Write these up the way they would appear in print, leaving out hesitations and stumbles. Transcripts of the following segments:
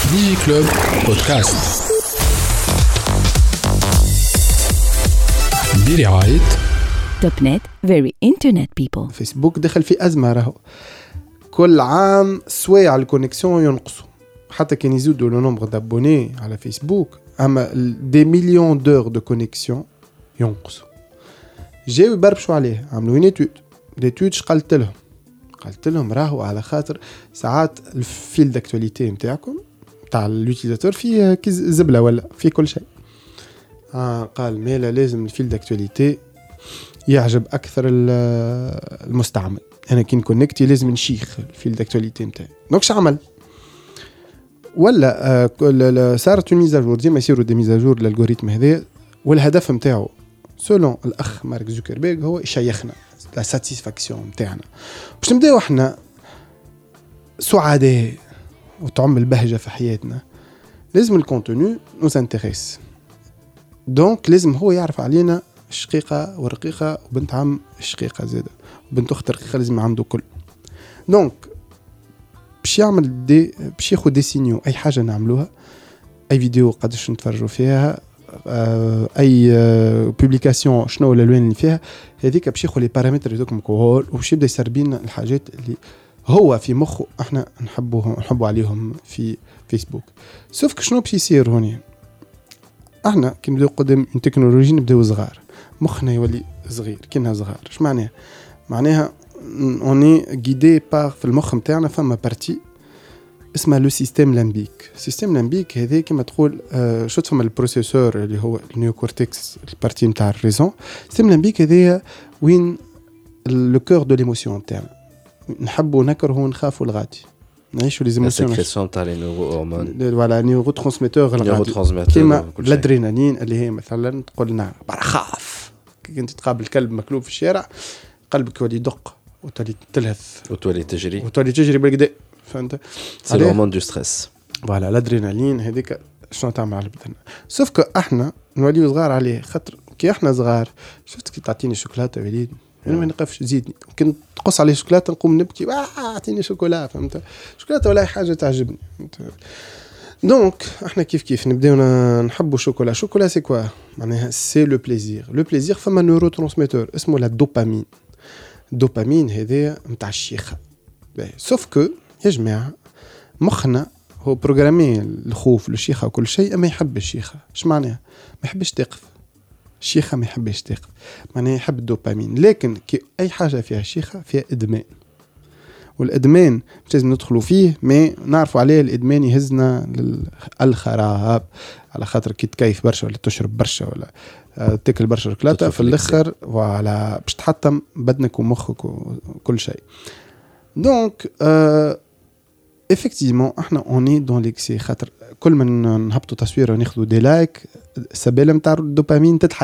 ديجي كلوب بودكاست برعاية توب نت very internet people. فيسبوك دخل في أزمة راهو كل عام سوايع الكونيكسيون ينقصوا حتى كان يزيدوا لو نومبر دابوني على فيسبوك اما دي مليون دور دو كونيكسيون ينقصوا. جاوا يبربشوا عليه عملوا نيتود قلت لهم راهو على خاطر ساعات الفيل داكتواليتي نتاعكم تاع اليوتيليزاتور فيه زبله ولا في كل شيء. قال مالا لازم الفيل داكتواليتي يعجب اكثر المستعمل. انا كي نكونكتي لازم نشيخ الفيل داكتواليتي نتاعي. دونك شو عمل ولا صارت ميزاجور ديما يصيروا دي ميزاجور للالغوريثم هذا والهدف نتاعو سولون الاخ مارك زوكربيرغ هو يشيخنا لا ساتيسفاكسيون نتاعنا باش نبداو احنا سعداء وتعم البهجه في حياتنا. لازم الكونتوني نوز انتريس دونك لازم هو يعرف علينا الشقيقه والرقيقه وبنت عم الشقيقه زاده وبنت اخت الرقيقه لازم عنده كل. دونك باش يعمل باش ياخذ دي سينيو اي حاجه نعملوها اي فيديو قداش نتفرجوا فيها اي بوبليكاسيون شنو الالوان اللي فيها هذيك باش ياخذ لي بارامتر هذوك كول وباش يبدا يسربين الحاجات اللي هو في مخه احنا نحبوا عليهم في فيسبوك. سوف شنو باش يصير هوني احنا كي نبداو قدام التكنولوجيا نبداو صغار مخنا يولي صغير كأنها صغار. اش معناها اوني غيدي بار في المخ نتاعنا فما بارتي اسمها لو سيستيم لامبيك. السيستيم لامبيك هذا كما تقول شو تفهم البروسيسور اللي هو النيو كورتكس البارتي نتاع الريزون. السيستيم لامبيك هذا وين لو كور دو ليموسيون نتاعنا نحبوا نكرهوا نخافوا الغادي نعيشوا لي زيموسيون السكريسيون تاع لي نيورو هرمون فوالا نيورو ترانسميتور الغادي كيما الادرينالين اللي هي مثلا تقول لنا خاف كي انت تقابل كلب مكلوب في الشارع قلبك يولي يدق وتولي تلهث وتولي تجري بالكدا فهمت سي الهرمون دو ستريس فوالا الادرينالين هذيك شنو تعمل على بدنا. سوف كو احنا نوليو صغار عليه خاطر كي احنا صغار شفت كي تعطيني شوكولاته وليد انا ما نقفش زيدني ممكن تقص عليه شوكولاته نقوم نبكي اعطيني شوكولا فهمت شوكولاته ولا حاجه تعجبني. دونك احنا كيف نبداو نحبوا شوكولا سي كوا معناها سي لو بليزير فما نيورو ترانسميتور اسمه لا دوبامين هذا نتاع الشيخه. سوف كو يا جماعه مخنا هو بروغرامي الخوف للشيخه وكل شيء اما يحب الشيخه. ايش معناها ما يحبش تقف الشيخه ما يحبش تقف معناها يحب الدوبامين. لكن كي اي حاجه فيها الشيخه فيها ادمان والادمان مش لازم ندخلوا فيه ما نعرفوا عليه. الادمان يهزنا للخراب على خاطر كي تكيف برشا ولا تشرب برشا ولا تاكل برشا شوكولاته في الاخر وعلى باش تحطم بدنك ومخك وكل شيء. دونك effectivement احنا اوني دون ليكسي خاطر كل ما نهبطوا تصويره وناخذوا دي لايك السبيله نتاع الدوبامين تتحل.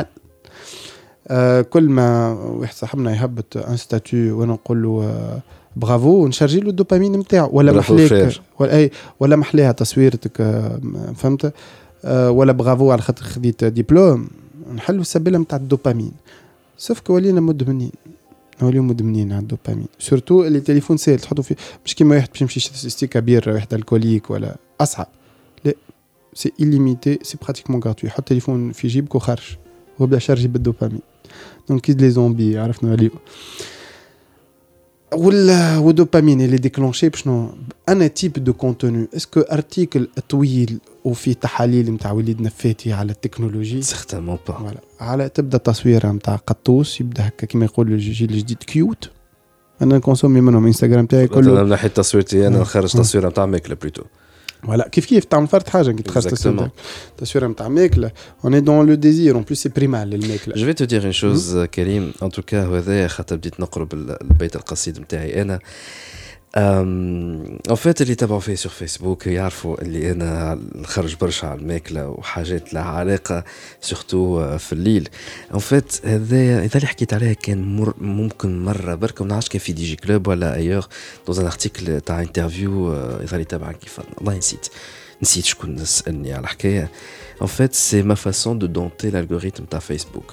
كل ما واحد صاحبنا يهبط ان ستاتيو وانا نقول له برافو ونشارجي له الدوبامين نتاعو ولا محليك ولا محليها تصويرتك فهمت ولا برافو على خاطر خديت دبلوم نحلوا السبيله نتاع الدوبامين. سوف كو ولينا مدمنين على الدوبامين سورتو اللي تليفون سهل تحطوا فيه مش كيما واحد باش يمشي ستيكا بير واحد الكوليك ولا اصعب لا سي إليميتي سي براتيكمون غراتوي. حط تليفون في جيبك وخرج وبدا شارجي بالدوبامين. دونك كيد لي زومبي عرفنا عليه ولا ودوبامين اللي ديكلونشي بشنو انا تيب دو كونتوني اسكو ارتيكل طويل وفي تحاليل نتاع وليدنا فاتي على التكنولوجي سيغتامون با فوالا على تبدا تصويره نتاع قطوس يبدا هكا كيما يقول الجيل الجديد كيوت انا نكونسومي منهم انستغرام تاعي كله انا نحي تصويرتي انا نخرج تصويره نتاع ماكله بلوتو voilà كيف تعمل فرد حاجه كي تخرج تصويره نتاع ماكله on est dans le désir en plus c'est primal الماكله. je vais te dire une chose كريم en tout cas هذا خاطر بديت نقرب البيت القصيد نتاعي انا en fait اللي تابعوا فيه sur فيسبوك يعرفوا اللي انا نخرج برشا على الماكله وحاجات لها علاقه سورتو في الليل. en fait هذا اللي حكيت عليه كان ممكن مره برك ما نعرفش كان في دي جي كلوب ولا ايور dans un article تاع انترفيو اللي تابع كيف والله نسيت شكون سالني على الحكايه. en fait c'est ma façon de dompter l'algorithme تاع فيسبوك.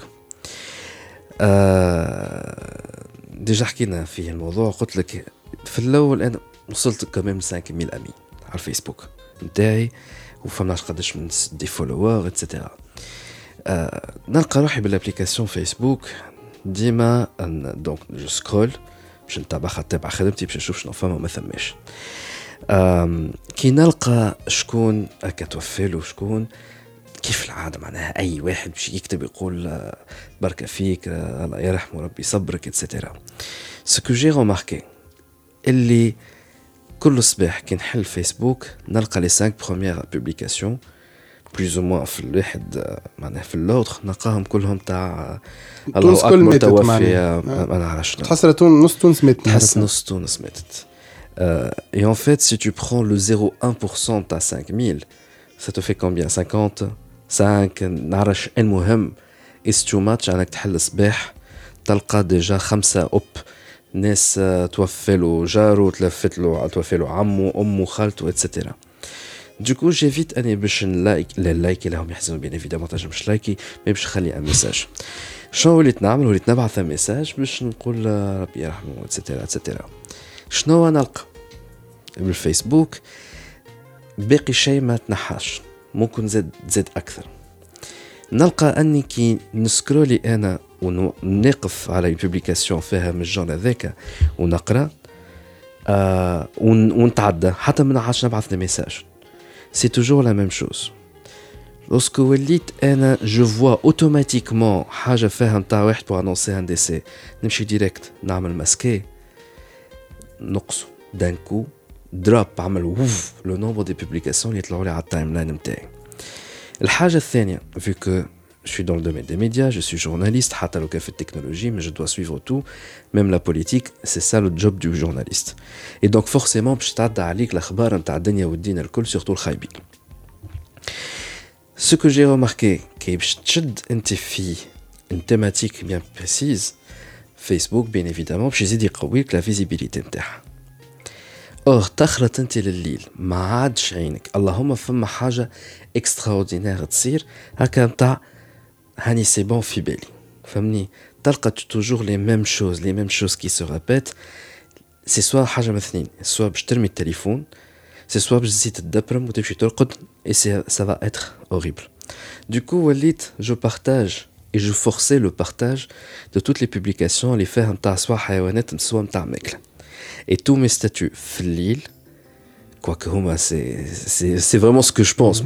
ديجا حكينا في الموضوع قلت لك في الاول انا وصلت كمان 5000 امين على الفيسبوك نتاعي وفماش قداش من دي فولوور اتسيتيرا. نلقى روحي بالابليكاسيون فيسبوك ديما دونك جو سكرول باش نتابع خدمتي باش نشوف شنو فما وما ثماش. كي نلقى شكون هكا توفيلو شكون كيف العاده معناها اي واحد باش يكتب يقول بركه فيك الله يرحمه ربي يصبرك اتسيتيرا. سكو جي روماركي اللي كل صباح كي نحل فيسبوك نلقى لي 5 بروميير بوبليكاسيون بلوز او موان في الواحد معناها في اللوتر نلقاهم كلهم تاع الله اكبر توفي ما نعرفش تحس نص تونس ماتت تحس نص تونس ماتت. Et en fait, si tu prends le 0,1% de ta 5000, ça te fait combien 50 5 نعرفش المهم is too much انك تحل صباح تلقى ديجا 5 اوب ناس توفى له جاره توفت له توفى له عمه امه خالته اتسيتيرا. دوكو جيفيت اني باش اللايك لهم يحزنوا بين ايفيدامون تنجمش لايكي مي باش نخلي ان ميساج. شنو وليت نعمل وليت نبعث ميساج باش نقول ربي يرحمه اتسيتيرا اتسيتيرا. شنو نلقى بالفيسبوك باقي شيء ما تنحاش ممكن زاد اكثر. نلقى اني كي نسكرولي انا ونقف على بوبليكاسيون فيها من الجون هذاك ونقرا ونتعدى حتى ما نعرفش نبعث لي ميساج سي توجور لا ميم شوز. لوسكو وليت انا جو فوا اوتوماتيكمون حاجه فيها نتاع واحد بو انونسي ان ديسي نمشي ديريكت نعمل ماسكي نقص دانكو دروب عمل ووف لو نومبر دي بوبليكاسيون اللي يطلعوا لي على التايم لاين نتاعي. الحاجه الثانيه vu que je suis dans le domaine des médias, je suis journaliste, حتى لو كان في التكنولوجي mais je dois suivre tout, même la politique, c'est ça le job du journaliste. Et donc forcément باش تعدى عليك الاخبار نتاع الدنيا والدين الكل surtout الخايبين. Ce que j'ai remarqué كي باش تشد انت في une thématique bien précise, Facebook bien évidemment باش يزيد يقويك la visibilité نتاعها. اور تخرط انت لليل ما عادش عينك اللهم فما حاجه اكستراوردينير تصير هكا نتاع هاني سي بون في بالي فهمني تلقى توجور لي ميم شوز كي سو ريبيت. سي سوا حاجه من اثنين سوا باش ترمي التليفون سي سوا باش تزيد تدبرم وتمشي ترقد اي سا فا اتر اوريبل. دوكو وليت جو بارتاج et je forçais le partage de toutes les publications اللي فيها نتاع سوا حيوانات سوا نتاع ماكله. Et tous mes statuts fil, quoique c'est vraiment ce que je pense,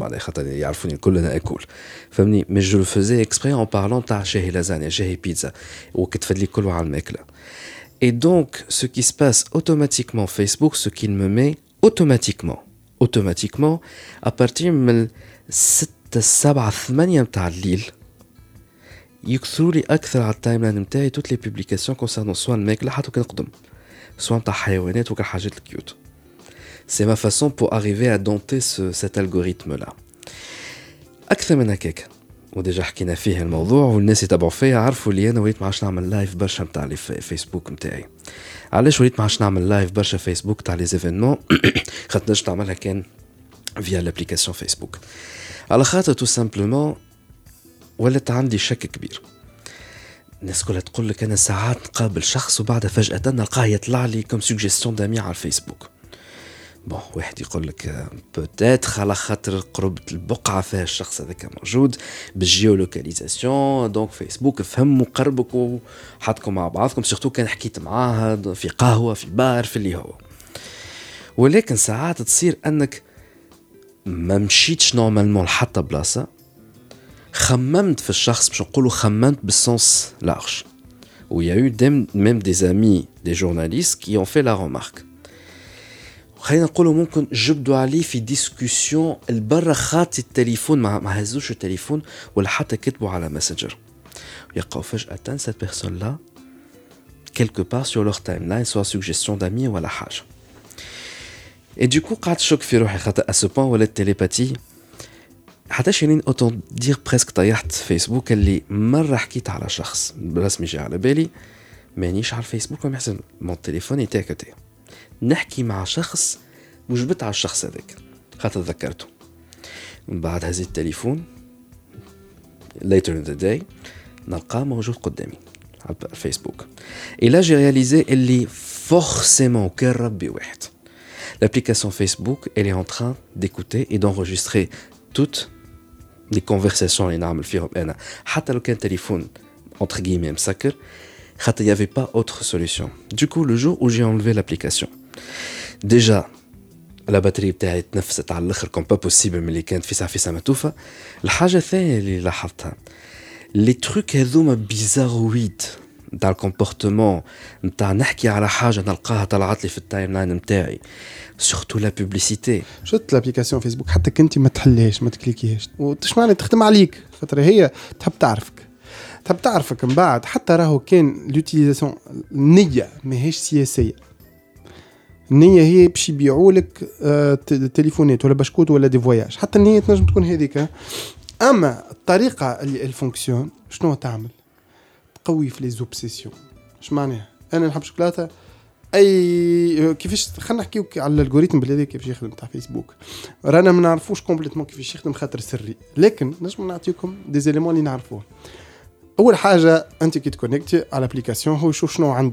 mais je le faisais exprès en parlant de j'ai lasagne, j'ai pizza, ou que tu fais de l'école à l'mekla. Et donc, ce qui se passe automatiquement Facebook, ce qu'il me met automatiquement, à partir de 6 7 8 تاع الليل يكثروا لي أكثر على التايم لاين نتاعي toutes les publications concernant soit الماكلة حتى كان نقدم soit نتاع حيوانات وكا حاجات الكيوت. C'est ma façon pour arriver à dompter cet algorithme-là. أكثر من هكاك وديجا حكينا فيه الموضوع والناس يتابعوا فيا عرفوا لي أنا وليت ما عادش نعمل لايف برشا نتاع لي فيسبوك نتاعي. علاش وليت ما عادش نعمل لايف برشا فيسبوك تاع لي زيفينمون خاطر نجم نعملها كان فيا لابليكاسيون فيسبوك على خاطر تو سامبلومون ولات عندي شك كبير. الناس كلها تقول لك انا ساعات نقابل شخص وبعدها فجأة نلقاه يطلع لي كم سوجيستيون دامي على الفيسبوك. بون واحد يقول لك بوتيتر على خاطر قربة البقعة فيها الشخص هذاك موجود بالجيولوكاليزاسيون دونك فيسبوك فهم وقربك وحطكم مع بعضكم سورتو كان حكيت معاها في قهوة في بار في اللي هو. ولكن ساعات تصير انك ما مشيتش نورمالمون لحتى بلاصة خممت في الشخص باش نقولوا خممت بالسنس لارج. و il y a eu même des amis des journalistes qui ont fait la remarque. خلينا نقولوا ممكن جبدوا عليه في ديسكوسيون البرة خاطي التليفون ما هزوش التليفون ولا حتى كتبوا على ماسنجر يلقاو فجأة cette personne là quelque part sur leur timeline soit suggestion d'amis ولا حاجة. et du coup قعدت شك في روحي خاطر à ce point ولا التليباتي حتى شيرين اوتون دير بريسك طيحت فيسبوك اللي مرة حكيت على شخص برسمي جاء على بالي مانيش على الفيسبوك وما يحسن مون تليفوني تاكتي نحكي مع شخص وجبت على الشخص هذاك خاطر ذكرته. من بعد هزيت التليفون later in the day نلقاه موجود قدامي على الفيسبوك. إلا جي رياليزي اللي فورسيمون كان ربي واحد l'application Facebook, elle est en train d'écouter et d'enregistrer toutes les conversations اللي نعمل فيهم أنا. حتى لو كان téléphone entre guillemets مسكر، خاطر il y avait pas autre solution. Du coup, le jour où j'ai enlevé l'application, déjà la batterie بتاعي تنفست على الاخر كون با بوسيبل ملي كانت في ساعه متوفه. الحاجه الثانيه اللي لاحظتها لي تروك هذوما بيزارويد نتاع الكومبورتمون نتاع نحكي على حاجه نلقاها طلعت لي في التايم لاين نتاعي سورتو لا بوبليسيتي. شفت الابليكاسيون فيسبوك حتى كنت ما تحليهاش ما تكليكيهاش وش معنى تخدم عليك خاطر هي تحب تعرفك من بعد. حتى راهو كان لوتيليزاسيون النيه ماهيش سياسيه، النية هي باش يبيعوا لك تليفونات ولا بشكوت ولا دي فواياج، حتى النية تنجم تكون هذيك. اما الطريقه اللي الفونكسيون شنو تعمل؟ تقوي في لي زوبسيسيون. اش معناها؟ انا نحب شوكولاته اي كيفاش خلينا نحكيو على الالغوريثم بالهذا كيفاش يخدم تاع فيسبوك. رانا ما نعرفوش كومبليتمون كيفاش يخدم خاطر سري، لكن نجم نعطيكم دي زيليمون اللي نعرفوه. اول حاجه انت كي تكونيكتي على الابليكاسيون هو يشوف شنو عنده،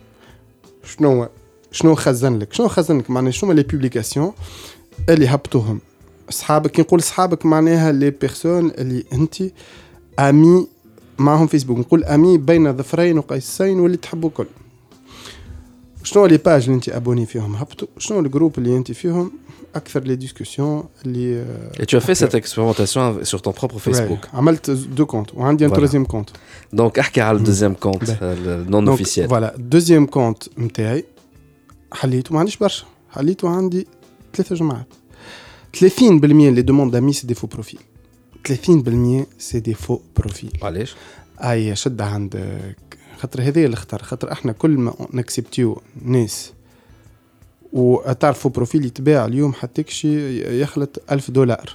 شنو خزن لك معناها شنو لي بوبليكاسيون اللي هبطوهم اصحابك. كي نقول اصحابك معناها لي بيرسون اللي انت امي معهم فيسبوك، نقول امي بين ظفرين وقيسين واللي تحبوا كل. شنو لي باج اللي انت ابوني فيهم هبطوا، شنو الجروب اللي انت فيهم اكثر لي ديسكوسيون اللي Et tu as fait cette expérimentation sur ton propre Facebook. عملت دو كونت وعندي ان تروزيام كونت. Donc احكي على الدوزيام كونت نون اوفيسيال. فوالا دوزيام كونت نتاعي حليته، ما عنديش برشا، حليته عندي 3 جماعات. 30% اللي دوموند امي سي دي فو بروفيل، 30% سي دي فو بروفيل. علاش؟ اي شد عندك خاطر هذه اللي اختار، خاطر احنا كل ما نكسبتيو ناس وتعرفوا بروفيل يتباع اليوم حتى كشي يخلط $1000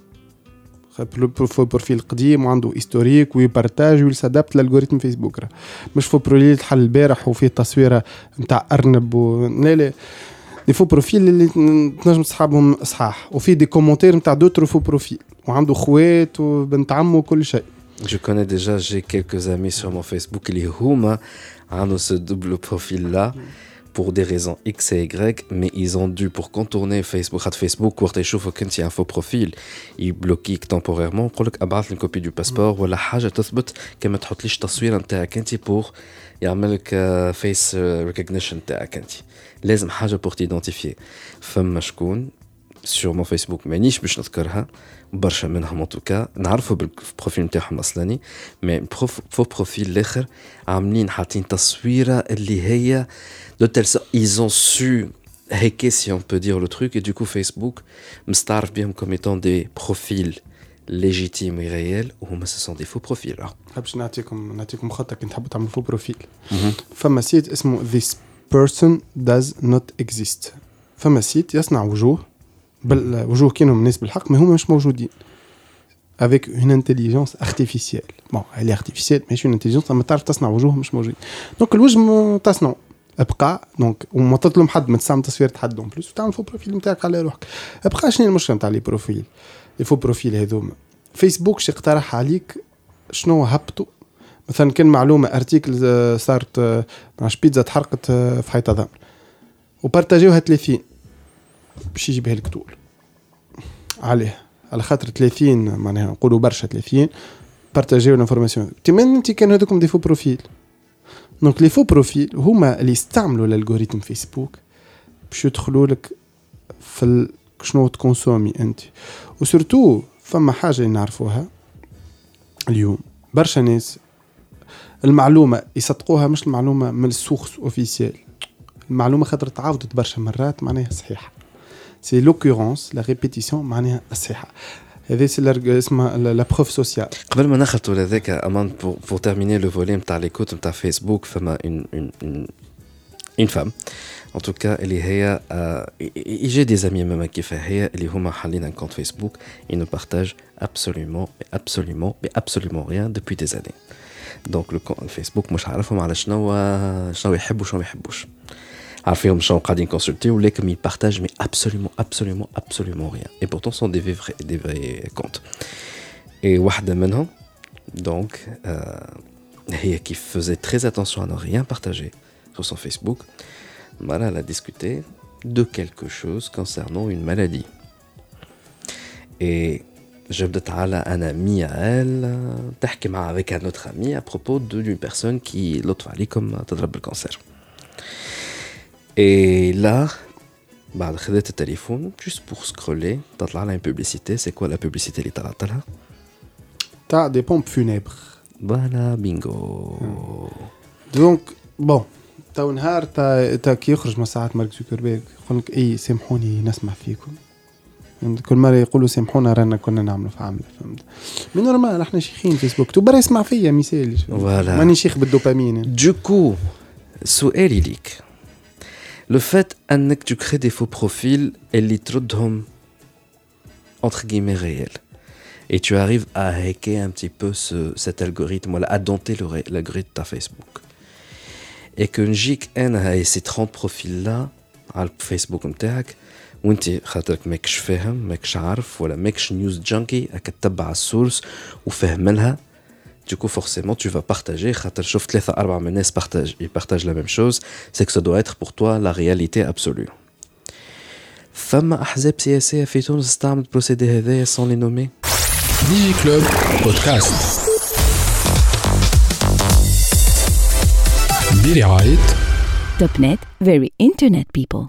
بروفيل قديم وعنده هيستوريك ويبارتاج ويسادابت للالغوريثم فيسبوك. مش فو بروفيل تحل البارح وفيه تصويره نتاع ارنب لا دي فو بروفيل اللي تنجم تصحابهم اصحاح وفيه دي كومونتير نتاع دوتر فو بروفيل وعنده خوات وبنت عمه وكل شيء. Je connais déjà, j'ai quelques amis sur mon Facebook qui huma ont ce double profil là pour des raisons X et Y, mais ils ont dû pour contourner Facebook quand ils chauffent quand il y a un faux profil, ils bloquent temporairement pour لك ابعث une copie du passeport ولا حاجه تثبت كما تحطليش تصوير نتاعك انت pour يعمل لك face recognition نتاعك انت. لازم حاجه pour t'identifier. فما شكون sur mon Facebook مانيش باش نذكرها برشا منهم ان توكا نعرفوا بالبروفيل نتاعهم الاصلاني، مي فو بروفيل الاخر عاملين حاطين تصويره اللي هي دو تيل ils ont su hacker si on peut dire le truc et du coup Facebook مستعرف بهم comme étant des profils légitimes et réels وهما ce sont des faux profils. باش نعطيكم خطه كنت حاب تعمل فو بروفيل. فما سيت اسمه this person does not exist. فما سيت يصنع وجوه بالوجوه كانوا الناس بالحق ما هم مش موجودين avec une intelligence artificielle. bon elle est artificielle mais une intelligence ما تعرف تصنع وجوه مش موجودين. دونك الوجه تصنع ابقى دونك وما تظلم حد ما تستعمل تصوير حد دون بلوس وتعمل فو بروفيل نتاعك على روحك. ابقى شنو المشكله نتاع لي بروفيل لي فو بروفيل هذوما؟ فيسبوك شي اقترح عليك شنو هبطوا مثلا كان معلومه ارتيكل صارت مع بيتزا تحرقت في حيطه ضمن وبارطاجيوها 30 باش يجيبها لك طول عليه على خاطر 30 معناها نقولوا برشا 30 بارطاجيو الانفورماسيون تمن انت كان هذوكم دي فو بروفيل. دونك لي فو بروفيل هما اللي يستعملوا الالغوريثم فيسبوك باش يدخلوا لك في شنو تكونسومي انت. وسورتو فما حاجه نعرفوها اليوم برشا ناس المعلومه يصدقوها مش المعلومه من السورس اوفيسيال، المعلومه خاطر تعاودت برشا مرات معناها صحيحه. سي لوكورونس لا ريبيتيسيون معناها الصحه. هذا سي اسمها لا بروف سوسيال. قبل ما نخلطوا لذاك امان pour terminer le volet نتاع ليكوت نتاع فيسبوك فما une femme en tout cas اللي هي j'ai des amis même كيفها هي اللي هما حالين ان كونت فيسبوك ils ne partagent absolument rien depuis des années. donc le compte Facebook مش عارفهم على شنو يحبوا شنو ما يحبوش، عارفين شنو قاعدين كونسلتي ولكن ils partagent mais absolument rien et pourtant sont des vrais comptes. et واحدة منهم donc هي qui faisait très attention à ne rien partager sur son Facebook. Voilà, elle a discuté de quelque chose concernant une maladie. Et جبدت على un ami à elle تحكي معها avec un autre ami à propos d'une personne qui لطف عليكم تضرب بالكانسر. Et là بعد خذت التليفون juste pour scroller تطلع لها une publicité. C'est quoi la publicité اللي طلعت لها؟ تاع دي بومب فونيبر. فوالا بينغو. دونك بون تو نهار تا كي يخرج من ساعات مارك زوكربيرغ يقول لك اي سامحوني نسمع فيكم. كل مرة يقولوا سامحونا رانا كنا نعملوا في عملة فهمت. من نورمال احنا شيخين فيسبوك تو برا يسمع فيا مثال ماني شيخ بالدوبامين. دوكو سؤالي ليك لو فات انك tu crées des faux profils اللي تردهم entre guillemets réels et tu arrives à hacker un petit peu cet algorithme voilà à dompter l'algorithme de Facebook et que نجيك انا هاي ces 30 profils là على الفيسبوك نتاعك وانت خاطرك ماكش فاهم ماكش عارف ولا ماكش نيوز جانكي راك تتبع السورس وفاهم لها du coup forcément tu vas partager خاطر شوف 3-4 من الناس ils partagent la même chose c'est que ça doit être pour toi la réalité absolue. فما احزاب سياسيه في تونس استعمل البروسيدي هذايا sans les nommer. ديجي كلوب بودكاست برعاية توب نت very internet people.